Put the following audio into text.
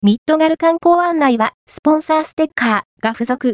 ミッドガル観光案内は、スポンサーステッカーが付属。